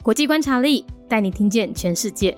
国际观察力带你听见全世界。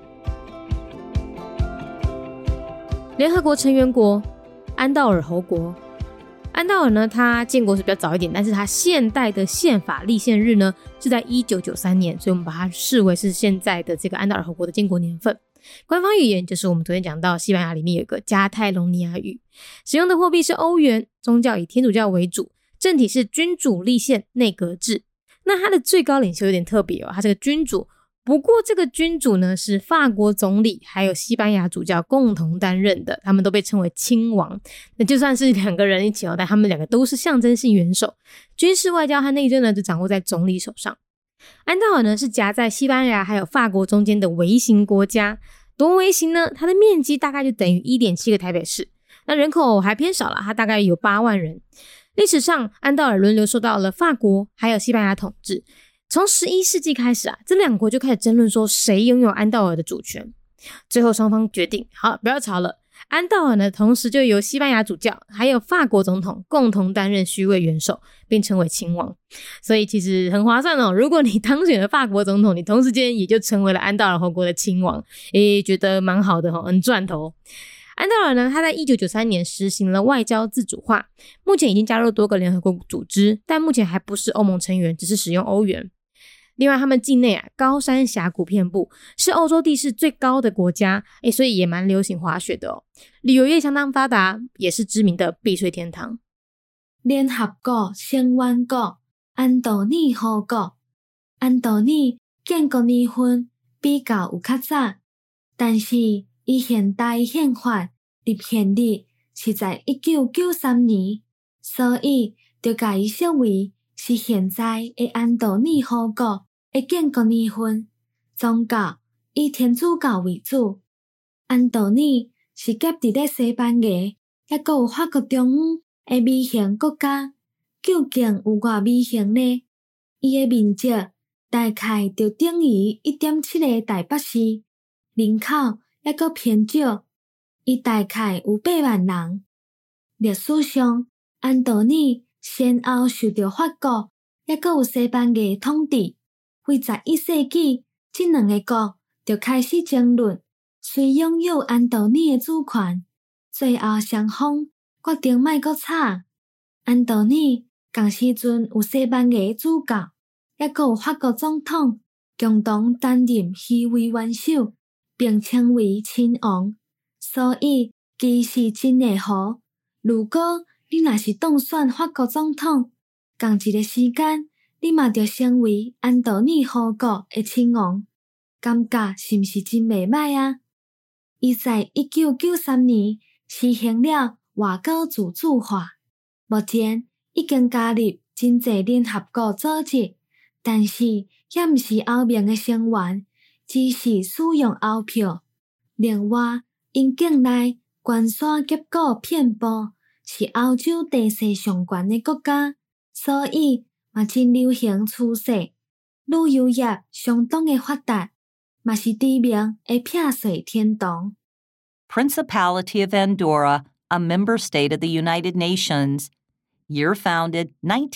联合国成员国安道尔侯国，安道尔呢，它建国是比较早一点，但是它现代的宪法立宪日呢是在1993年，所以我们把它视为是现在的这个安道尔侯国的建国年份。官方语言就是我们昨天讲到西班牙里面有一个加泰隆尼亚语，使用的货币是欧元，宗教以天主教为主，政体是君主立宪内阁制。那它的最高领袖有点特别哦，他这个君主，不过这个君主呢是法国总理还有西班牙主教共同担任的，他们都被称为亲王。那就算是两个人一起哦，但他们两个都是象征性元首，军事外交和内政呢就掌握在总理手上。安道尔呢是夹在西班牙还有法国中间的微型国家，多微型呢？它的面积大概就等于 1.7 个台北市，那人口还偏少啦，它大概有8万人。历史上安道尔轮流受到了法国还有西班牙统治，从11世纪开始啊，这两国就开始争论说谁拥有安道尔的主权。最后双方决定，好，不要吵了，安道尔呢同时就由西班牙主教还有法国总统共同担任虚位元首，并称为亲王。所以其实很划算哦，如果你当选了法国总统，你同时间也就成为了安道尔侯国的亲王，觉得蛮好的哦，很赚头。安道尔呢，他在1993年实行了外交自主化，目前已经加入多个联合国组织，但目前还不是欧盟成员，只是使用欧元。另外他们境内啊高山峡谷遍布，是欧洲地势最高的国家，所以也蛮流行滑雪的哦。旅游业相当发达，也是知名的避税天堂。 联合国成员国安道尔侯国，安道尔建国年份比较有较早，但是伊现代宪法立宪日是在1993年，所以就把伊设为是现在的安道尔侯国的建国年份。宗教以天主教为主，安道尔是夹伫咧西班牙也阁有法国中央的微型国家。究竟有偌微型呢？伊的面积大概就等于 1.7 个台北市，人口也阁偏少，伊大概有8万人。历史上，安道尔先后受到法国也阁有西班牙统治。为11世纪，这两个国就开始争论谁拥有安道尔的主权，最后双方决定莫阁吵。安道尔同时阵有西班牙主教，也阁有法国总统共同担任虚位元首，并称为亲王，所以其是真的好。如果你若是当选法国总统，同一个时间，你嘛就成为安道尔侯国的亲王，感觉是毋是真袂歹啊？伊在1993年实行了外交自主化，目前已经加入真侪联合国组织，但是也毋是欧盟的成员，只是使用欧票。另外，因境内悬山峡谷遍布，是欧洲地势上悬的国家，所以嘛真流行趋势。旅游业相当的发达，嘛是知名的避税天堂。 Principality of Andorra, a member state of the United Nations. Year founded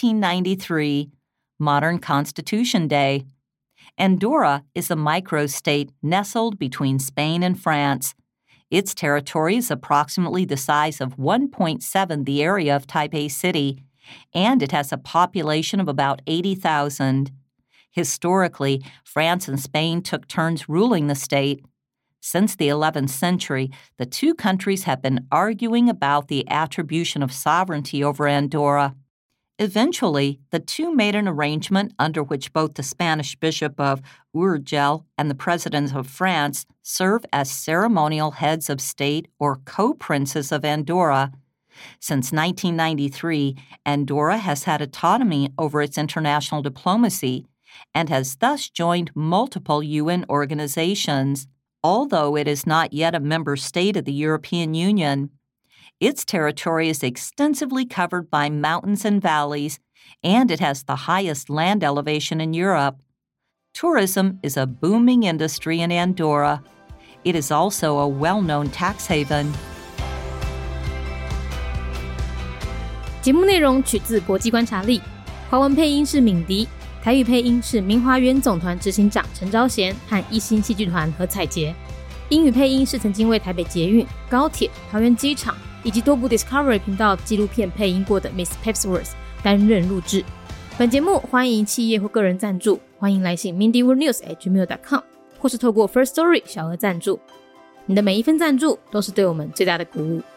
1993. Modern Constitution Day. Andorra is a microstate nestled between Spain and France. Its territory is approximately the size of 1.7 the area of Taipei City, and it has a population of about 80,000. Historically, France and Spain took turns ruling the state. Since the 11th century, the two countries have been arguing about the attribution of sovereignty over Andorra. Eventually, the two made an arrangement under which both the Spanish Bishop of Urgell and the President of France serve as ceremonial heads of state or co-princes of Andorra. Since 1993, Andorra has had autonomy over its international diplomacy and has thus joined multiple UN organizations. Although it is not yet a member state of the European Union, its territory is extensively covered by mountains and valleys, and it has the highest land elevation in Europe. Tourism is a booming industry in Andorra. It is also a well-known tax haven. 节目内容取自国际观察力，华文配音是敏迪， 台语配音是明华园总团执行长陈昭贤和一星戏剧团何彩杰，英语配音是曾经为台北捷运、高铁、桃园机场以及多部 Discovery 频道纪录片配音过的 Miss Pepsworth 担任录制。本节目欢迎企业或个人赞助，欢迎来信 mindyworldnews@gmail.com 或是透过 First Story 小额赞助。你的每一份赞助都是对我们最大的鼓舞。